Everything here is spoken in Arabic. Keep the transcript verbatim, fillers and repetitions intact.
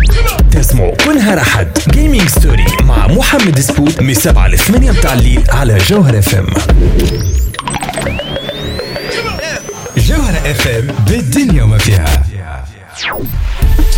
تسمعوا كلها رحد جيمنج ستوري مع محمد سبوت من سبعة لثمانية متاع الليل على جوهر اف ام. جوهر اف ام بالدنيا وما فيها.